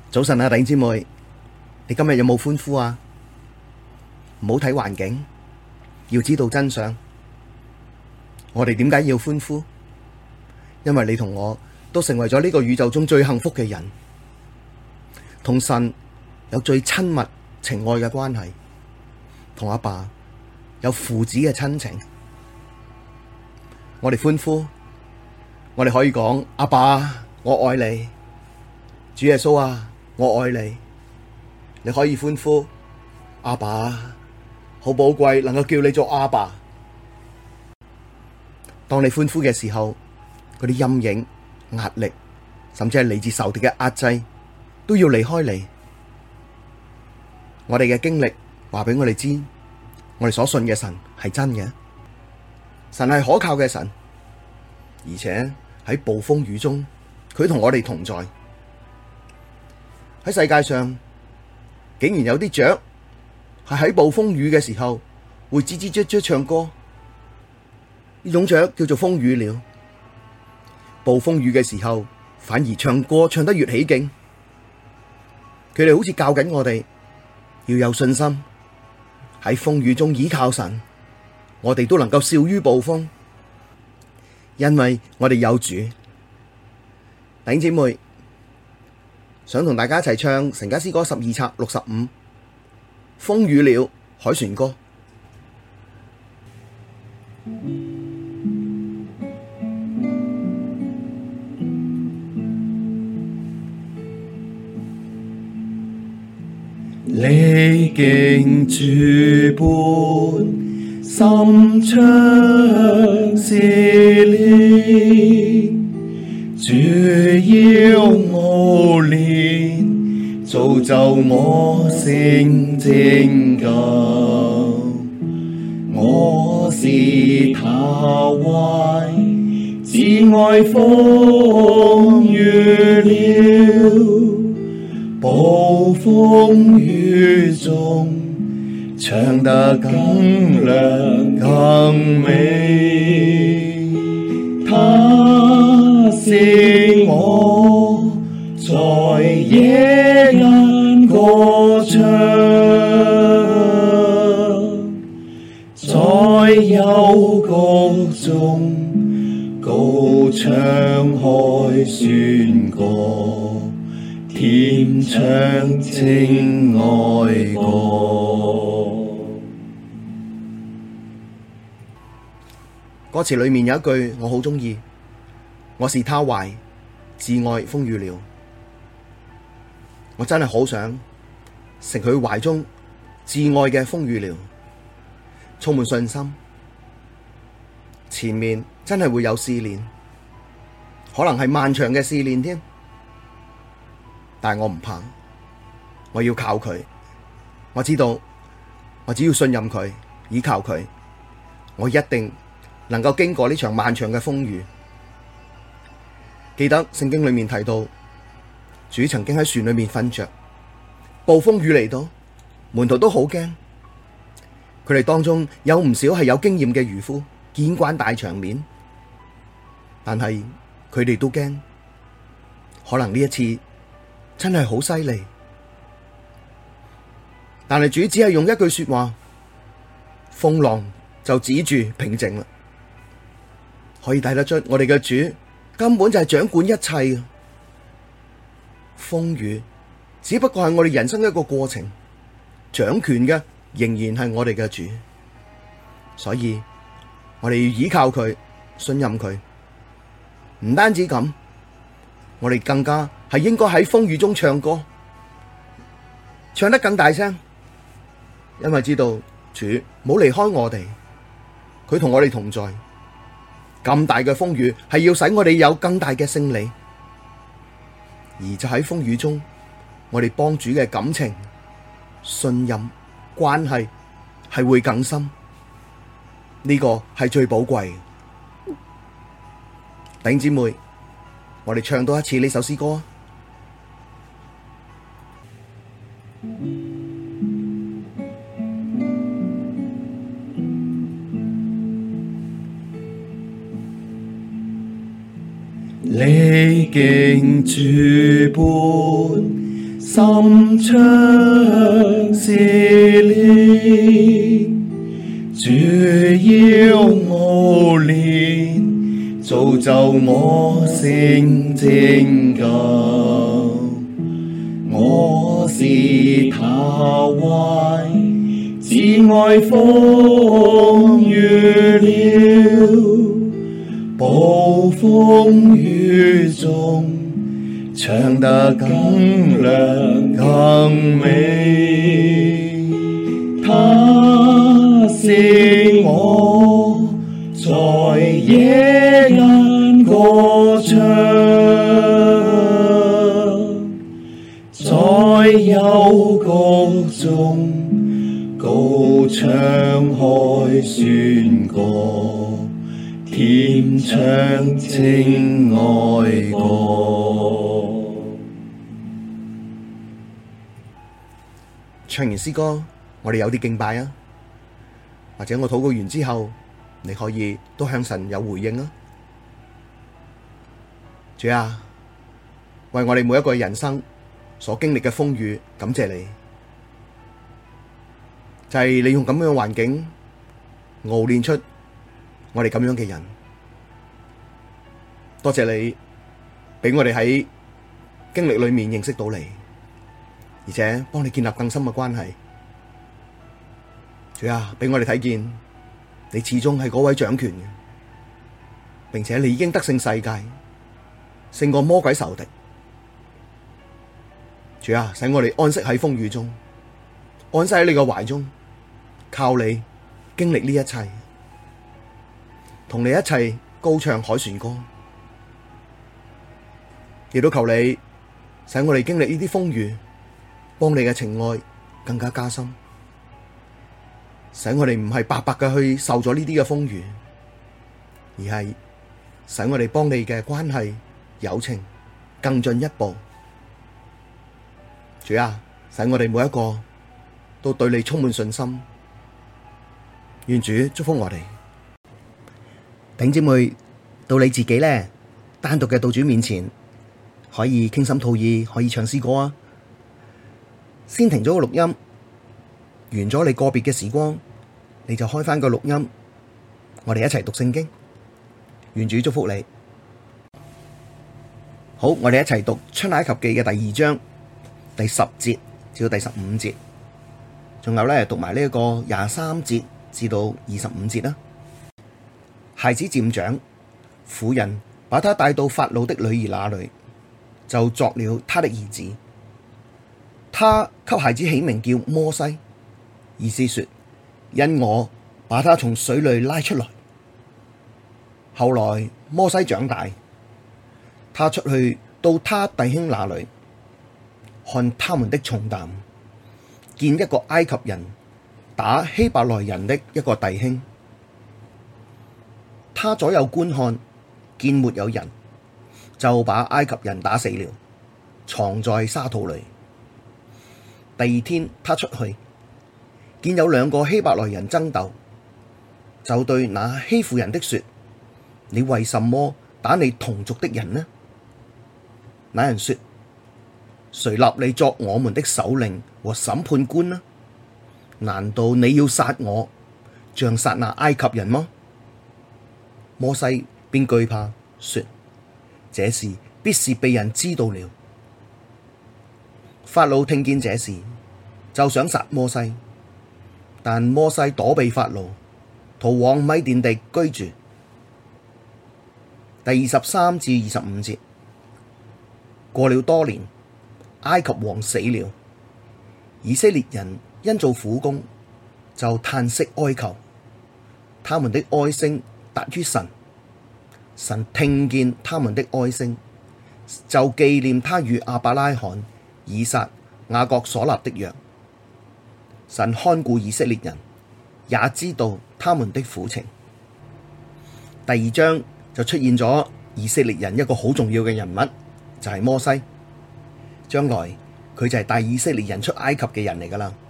早晨啊，弟兄姊妹，你今日有冇歡呼啊？唔好睇環境，要知道真相。我哋點解要歡呼？因為你同我都成為咗呢個宇宙中最幸福嘅人，同神有最親密情愛嘅關係，同阿爸有父子嘅親情。我哋歡呼，我哋可以講：阿爸，我愛你，主耶穌啊！我愛你，你可以歡呼，阿爸，好寶貴，能夠叫你做阿爸。當你歡呼嘅時候，嗰啲陰影、壓力，甚至係嚟自仇敵嘅壓制，都要離開你。我哋嘅經歷話俾我哋知，我哋所信嘅神係真嘅，神係可靠嘅神，而且喺暴風雨中，佢同我哋同在。喺世界上，竟然有啲雀係喺暴風雨嘅時候會吱吱喳喳唱歌，呢種雀叫做風雨鳥。暴風雨嘅時候，反而唱歌唱得越起勁。佢哋好似教緊我哋要有信心，喺風雨中倚靠神，我哋都能夠笑於暴風，因為我哋有主。弟兄姊妹，想同大家一齊唱神家詩歌12冊65風雨鳥凱旋歌。 歷經諸般深長試煉，主要熬煉，造就我成拯救。我是他懷至愛風雨鳥，暴風雨中唱得更亮更美，他使我在夜間歌唱，在幽谷中高唱凱旋歌，甜唱情愛歌。 歌詞裏面有一句我好鍾意，我是他懷至愛風雨鳥。我真係好想成佢懷中至愛嘅風雨鳥，充滿信心。前面真係會有試煉，可能係漫長嘅試煉添，但係我唔怕，我要靠佢。我知道我只要信任佢，倚靠佢，我一定能夠經過呢場漫長嘅風雨。記得聖經裏面提到，主曾經喺船裏面瞓着，暴風雨嚟到，門徒都好驚。佢哋當中有唔少係有經驗嘅漁夫，見慣大場面，但係佢哋都驚，可能呢一次真係好犀利。但係主只係用一句說話，風浪就止住平靜啦。可以睇得出我哋嘅主根本就係掌管一切。風雨只不過係我哋人生一個過程，掌權嘅仍然係我哋嘅主。所以我哋要依靠佢，信任佢。唔單止咁，我哋更加係應該喺風雨中唱歌，唱得更大聲，因為知道主冇離開我哋，佢同我哋同在。咁大嘅風雨係要使我哋有更大嘅勝利，而就喺風雨中，我哋幫主嘅感情、信任、關係係會更深，呢個係最寶貴。弟兄姊妹，我哋唱多一次呢首詩歌啊！ 歷經諸般心腸撕裂，主要熬煉，造就我成拯救。我是他懷，至愛豐裕了，暴風雨中，唱得更亮更美。他使我在夜間歌唱，在幽谷中高唱凱旋歌，甜唱情愛歌。 唱完詩歌，我哋有啲敬拜啊，或者我禱告完之後，你可以都向神有回應啊。主啊，為我哋每一個人生所經歷嘅風雨，感謝你，就係你用咁樣嘅環境熬煉出我哋咁樣嘅人。多謝你俾我哋喺經歷裏面認識到你，而且幫你建立更深嘅關係。主啊，俾我哋睇見你始終係嗰位掌權嘅，並且你已經得勝世界，勝過魔鬼仇敵。主啊，使我哋安息喺風雨中，安息喺你嘅懷中，靠你經歷呢一切，同你一齊高唱凱旋歌。亦都求你使我哋經歷呢啲風雨，幫你嘅情愛更加加深，使我哋唔係白白嘅去受咗呢啲嘅風雨，而係使我哋幫你嘅關係友情更進一步。主啊，使我哋每一個都對你充滿信心。願主祝福我哋。弟兄姊妹，到你自己呢，單獨嘅到主面前，可以傾心吐意，可以唱詩歌啊。先停咗個錄音，完咗你個別嘅時光，你就開返個錄音，我哋一齊讀聖經。願主祝福你。好，我哋一齊讀出埃及記嘅第2章第10節至到第15節，仲有咧讀埋呢一個23節至到25節啦。孩子漸長，婦人把他帶到法老的女兒那裡，就作了他的兒子。他給孩子起名叫摩西，意思說，因我把他從水裡拉出來。後來摩西長大，他出去到他弟兄那裡，看他們的重擔，見一個埃及人打希伯來人的一個弟兄。他左右觀看，見沒有人，就把埃及人打死了，藏在沙土裡。第二天他出去，見有兩個希伯來人爭鬥，就對那欺負人的說：你為什麼打你同族的人呢？那人說：誰立你作我們的首領和審判官呢？難道你要殺我，像殺那埃及人嗎？摩西便懼怕，說：這事必是被人知道了。法老聽見這事，就想殺摩西，但摩西躲避法老，逃往米甸地居住。第23至25節。過了多年，埃及王死了，以色列人因做苦工，就嘆息哀求，他們的哀聲達於神，神聽見他們的哀聲，就紀念他與亞伯拉罕、以撒、雅各所立的約。神看顧以色列人，也知道他們的苦情。第2章就出現咗以色列人一個好重要嘅人物，就係摩西。將來佢就係帶以色列人出埃及嘅人嚟噶啦。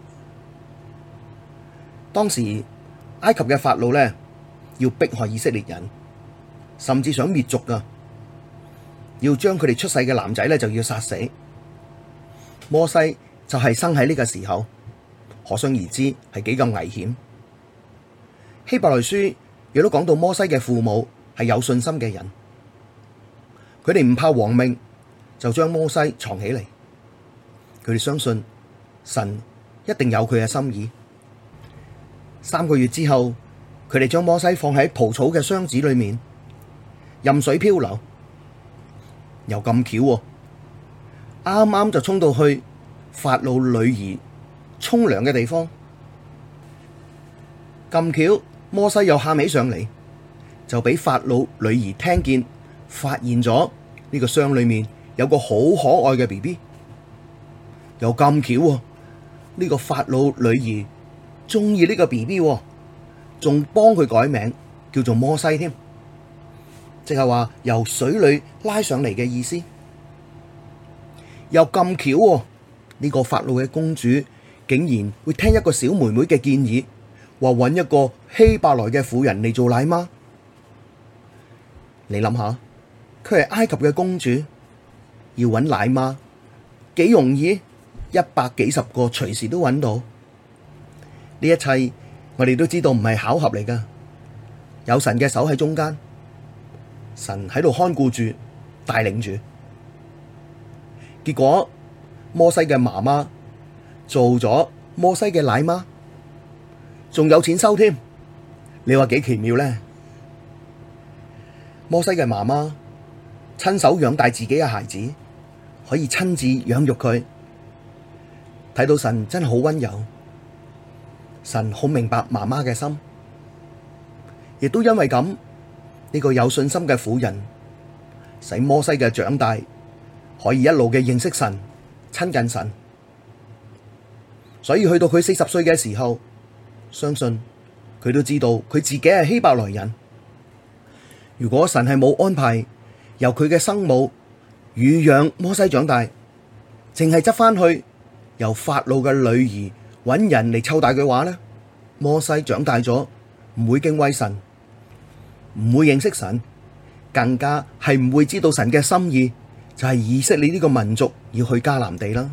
當時埃及嘅法老呢，要迫害以色列人，甚至想滅族噶，要將佢哋出世嘅男仔呢就要殺死。 摩西就係生喺呢個時候，可想而知係幾咁危險。希伯來書亦都講到摩西嘅父母係有信心嘅人，佢哋唔怕亡命，就將摩西藏起嚟。佢哋相信神一定有佢嘅心意。3個月之後，佢哋將摩西放喺蒲草嘅箱子裏面，任水漂流。又咁巧喎，啱啱就衝到去法老女兒沖涼嘅地方。咁巧，摩西又喊起上嚟，就俾法老女兒聽見，發現咗呢個箱裏面有個好可愛嘅 BB。又咁巧喎，呢個法老女兒中意呢個 BB，仲幫佢改名叫做摩西添，即係話由水裏拉上嚟嘅意思。又咁巧喎，呢個法老嘅公主竟然會聽一個小妹妹嘅建議，話搵一個希伯來嘅婦人嚟做奶媽。你諗下，佢係埃及嘅公主，要搵奶媽幾容易？100幾十個隨時都搵到。呢一切我哋都知道唔係巧合嚟噶，有神嘅手喺中間，神喺度看顧住、帶領住。結果摩西嘅媽媽做咗摩西嘅奶媽，仲有錢收添。你話幾奇妙呢？摩西嘅媽媽親手養大自己嘅孩子，可以親自養育佢。睇到神真係好溫柔，神好明白媽媽嘅心，亦都因為咁，呢個有信心嘅婦人，使摩西嘅長大可以一路嘅認識神、親近神，所以去到佢40歲嘅時候，相信佢都知道佢自己係希伯來人。如果神係冇安排由佢嘅生母乳養摩西長大，淨係執翻去由法老嘅女兒搵人嚟湊大嘅話呢，摩西長大咗唔會敬畏神，唔會認識神，更加係唔會知道神嘅心意，就係以色列呢個民族要去迦南地啦。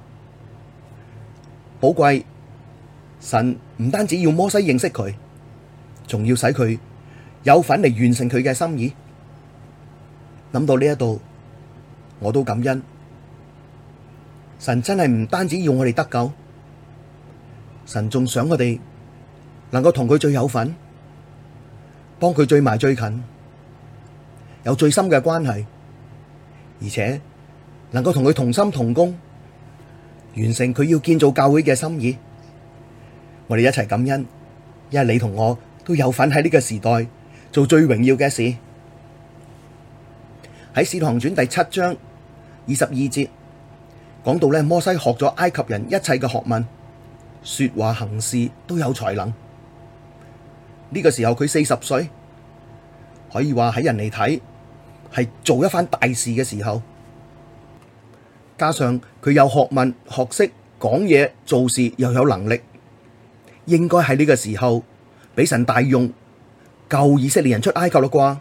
寶貴，神唔單止要摩西認識佢，仲要使佢有份嚟完成佢嘅心意。諗到呢一度，我都感恩。神真係唔單止要我哋得救，神仲想我哋能夠同佢最有份，幫佢最埋最近，有最深嘅關係，而且能夠同佢同心同工，完成佢要建造教會嘅心意。我哋一齊感恩，因為你同我都有份喺呢個時代做最榮耀嘅事。喺《使徒行傳》第7章22節。講到咧，摩西學咗埃及人一切嘅學問，說話行事都有才能。呢個時候佢40歲，可以話喺人嚟睇係做一番大事嘅時候。加上佢有學問、學識、講嘢、做事又有能力，應該喺呢個時候俾神大用，救以色列人出埃及啦啩。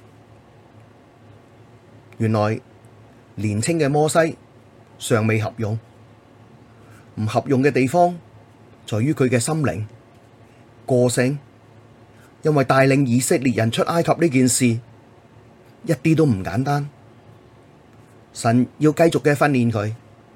原來年輕嘅摩西尚未合用，唔合用嘅地方在於佢嘅心靈、個性，因為帶領以色列人出埃及呢件事一啲都唔簡單，神要繼續嘅訓練佢。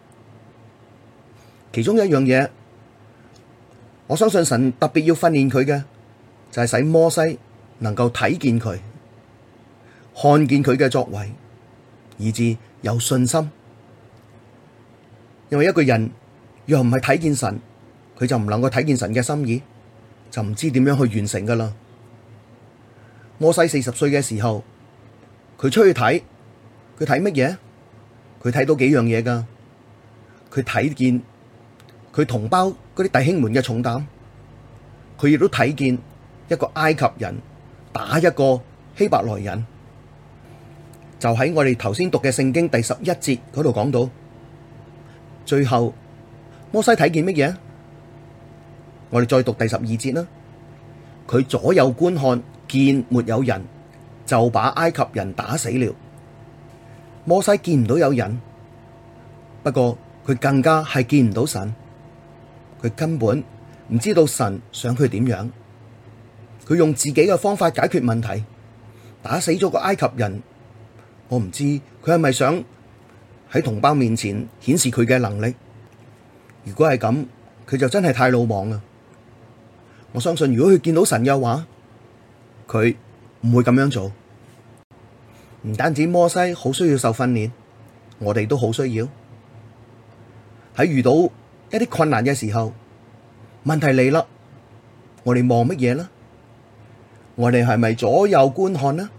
其中一樣嘢，我相信神特別要訓練佢嘅，就係使摩西能夠睇見佢，看見佢嘅作為，以致有信心。因為一個人若唔係睇見神，佢就唔能夠睇見神嘅心意，就唔知點樣去完成噶啦。摩西40歲嘅時候，佢出去睇，佢睇乜嘢？佢睇到幾樣嘢噶。佢睇見佢同胞嗰啲弟兄們嘅重擔，佢亦都睇見一個埃及人打一個希伯來人。就喺我哋頭先讀嘅聖經第11節嗰度講到。最後摩西睇見乜嘢？我哋再讀第12節啦。佢左右觀看，見沒有人，就把埃及人打死了。摩西見唔到有人，不過佢佢更加係見唔到神，佢根本唔知道神想佢點樣，佢用自己嘅方法解決問題，打死咗個埃及人。我唔知佢係咪想喺同胞面前顯示佢嘅能力。如果係咁，佢就真係太魯莽啦。我相信如果佢見到神嘅話，佢唔會咁樣做。唔單止摩西好需要受訓練，我哋都好需要。喺遇到一啲困難嘅時候，問題嚟啦，我哋望乜嘢呢？我哋係咪左右觀看呢？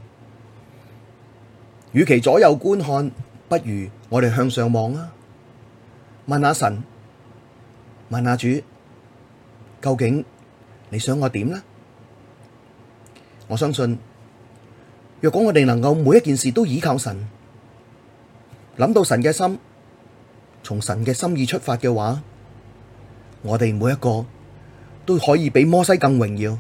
與其左右觀看，不如我哋向上望啊！問下神，問下主，究竟你想我點呢？我相信，若果我哋能夠每一件事都倚靠神，諗到神嘅心，從神嘅心意出發嘅話，我哋每一個都可以比摩西更榮耀。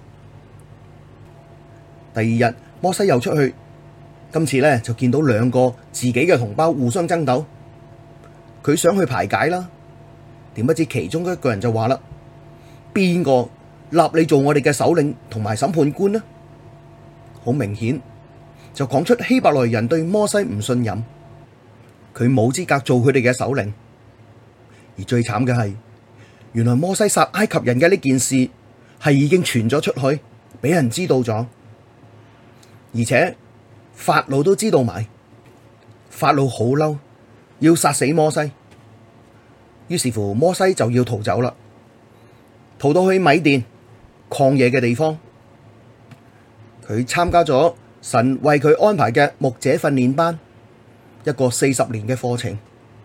第二日，摩西又出去，今次呢就見到兩個自己嘅同胞互相爭鬥，佢想去排解啦，點不知其中一個人就話啦：邊個立你做我哋嘅首領同埋審判官呢？好明顯就講出希伯來人對摩西唔信任，佢冇資格做佢哋嘅首領。而最慘嘅係，原來摩西殺埃及人嘅呢件事係已經傳咗出去，俾人知道咗，而且法老都知道埋。法老好嬲，要殺死摩西，於是乎摩西就要逃走啦，逃到去米甸曠野嘅地方。佢參加咗神為佢安排嘅牧者訓練班，一個40年嘅課程。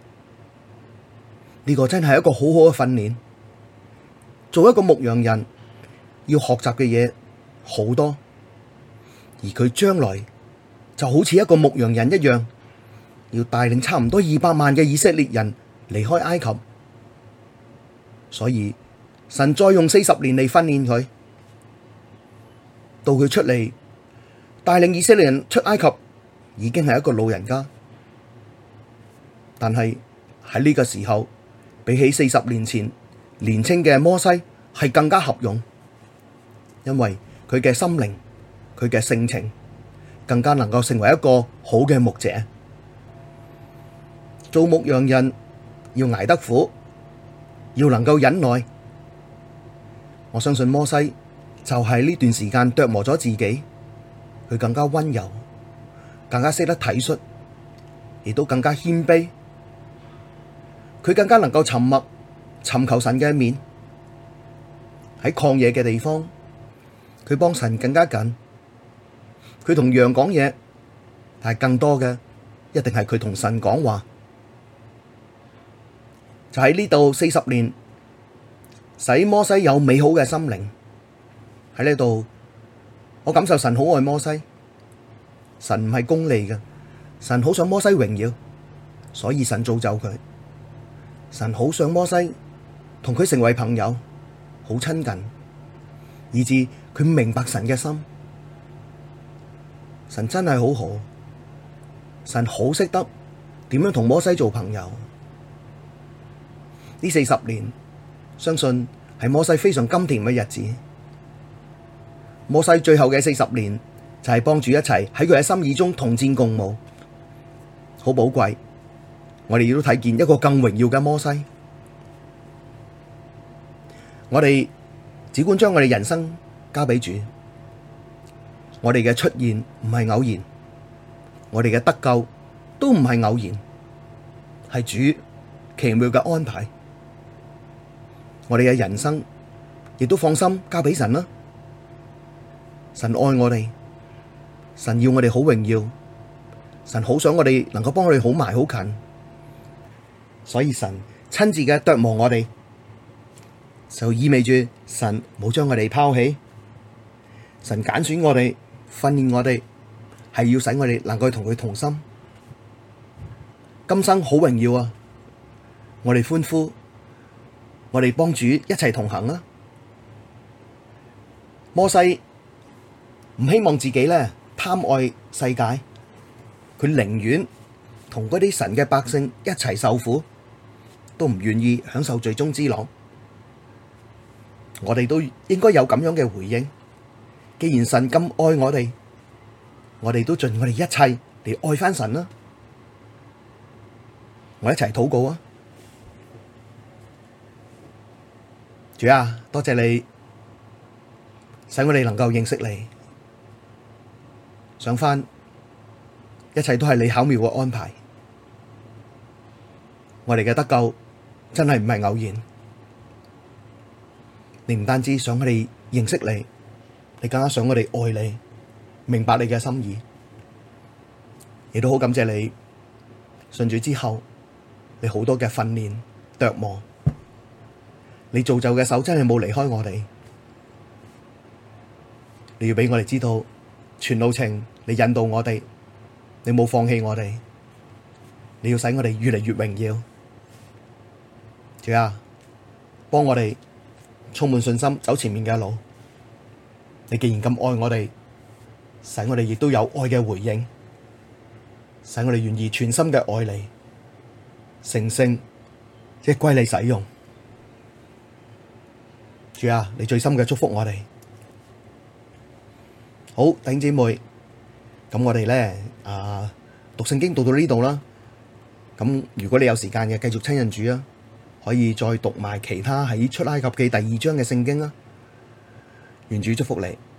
呢個真係一個好好嘅訓練。做一個牧羊人要學習嘅嘢好多，而佢將來就好似一個牧羊人一樣，要帶領差唔多200萬嘅以色列人離開埃及。所以神再用40年嚟訓練佢，到佢出嚟帶領以色列人出埃及，已經係一個老人家。但係喺呢個時候，比起40年前年輕嘅摩西係更加合用，因為佢嘅心靈、佢嘅性情更加能夠成為一個好嘅牧者。做牧羊人要捱得苦，要能夠忍耐。我相信摩西就係呢段時間琢磨咗自己，佢更加溫柔，更加識得體恤，亦都更加謙卑。佢更加能夠沉默，尋求神嘅面。喺曠野嘅地方，佢幫神更加緊。佢同羊講嘢，但係更多嘅一定係佢同神講話。就喺呢度40年，使摩西有美好嘅心靈。喺呢度，我感受神好愛摩西。神唔係功利嘅，神好想摩西榮耀，所以神造就佢。神好想摩西同佢成為朋友，好親近，以致佢明白神嘅心。神真係好好，神好識得點樣同摩西做朋友。呢40年，相信係摩西非常甘甜嘅日子。摩西最後嘅40年就係幫主一齊喺佢嘅心意中同戰共舞，好寶貴。我哋亦都睇見一個更榮耀嘅摩西。我哋只管將我哋人生交俾主，我哋嘅出現唔係偶然，我哋嘅得救都唔係偶然，係主奇妙嘅安排。我哋嘅人生亦都放心交俾神啦。神愛我哋，神要我哋好榮耀，神好想我哋能夠幫我哋好埋好近。所以神親自嘅琢磨我哋，就意味住神冇將我哋拋棄，神揀選我哋，訓練我哋，係要使我哋能夠同佢同心。今生好榮耀啊！我哋歡呼，我哋幫主一齊同行啊！摩西唔希望自己咧貪愛世界，佢寧願同嗰啲神嘅百姓一齊受苦。 都唔願意享受罪中之樂。我哋都應該有咁樣嘅回應。既然神咁愛我哋都盡我哋一切嚟愛返神啦。我一齊禱告啊！主啊，多謝你使我哋能夠認識你，想返一切都係你巧妙嘅安排。我哋嘅得救真係唔係偶然。你唔單止想我哋認識你，你更加想我哋愛你，明白你嘅心意。亦都好感謝你信主之後，你好多嘅訓練琢磨，你造就嘅手真係冇離開我哋。你要俾我哋知道全路程你引導我哋，你冇放棄我哋，你要使我哋越嚟越榮耀。主啊，幫我哋充滿信心走前面嘅路。你既然咁愛我哋，使我哋亦都有愛嘅回應，使我哋願意全心嘅愛你，成聖即係歸你使用。主啊，你最深嘅祝福我哋。好，弟兄姊妹，咁我哋咧讀聖經讀到呢度啦。咁如果你有時間嘅，繼續親近主啊，可以再讀埋其他喺出埃及記第2章嘅聖經啊。願主祝福你。